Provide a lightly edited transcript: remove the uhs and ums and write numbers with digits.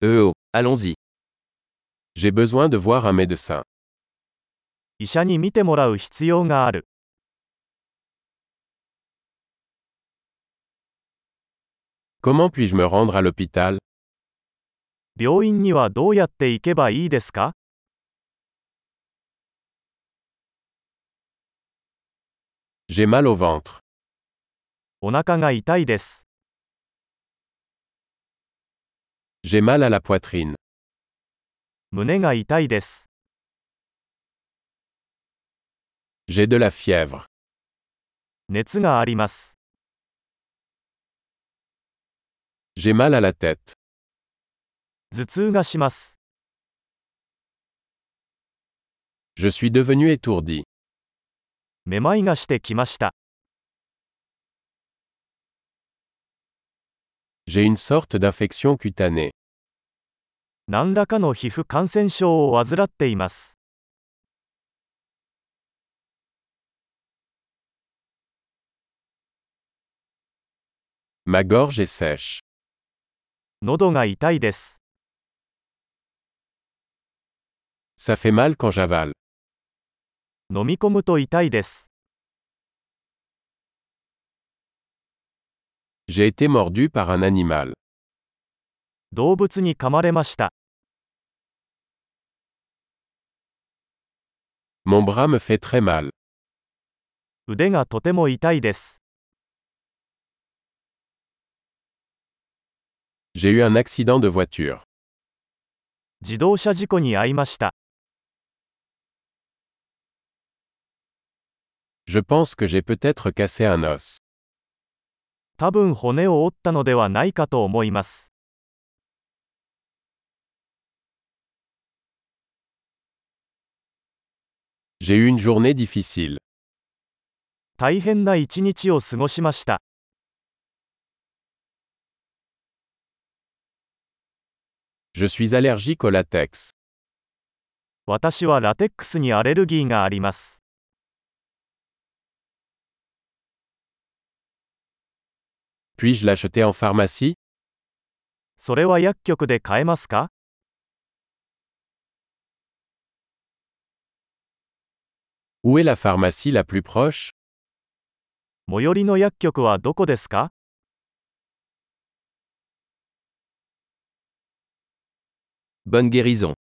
Oh, allons-y. J'ai besoin de voir un médecin. 医者に診てもらう必要がある。 Comment puis-je me rendre à l'hôpital? 病院にはどうやって行けばいいですか？ J'ai mal au ventre. お腹が痛いです。 J'ai mal à la poitrine. 胸が痛いです。 J'ai de la fièvre. 熱があります。 J'ai mal à la tête. 頭痛がします。 Je suis devenu étourdi. めまいがしてきました。 J'ai une sorte d'infection cutanée. 何らかの皮膚感染症を患っています。 Ma gorge est sèche. 喉が痛いです。 Ça fait mal quand j'avale. 飲み込むと痛いです。 J'ai été mordu par un animal. 動物に噛まれました。 Mon bras me fait très mal. 腕がとても痛いです。 J'ai eu un accident de voiture. 自動車事故に遭いました。 Je pense que j'ai peut-être cassé un os. 多分骨を折ったのではないかと思います。 J'ai eu une journée difficile. 大変な一日を過ごしました。 Je suis allergique au latex. 私はラテックスにアレルギーがあります。 Puis-je l'acheter en pharmacie? それは薬局で買えますか？ Où est la pharmacie la plus proche? 最寄りの薬局はどこですか？ Bonne guérison.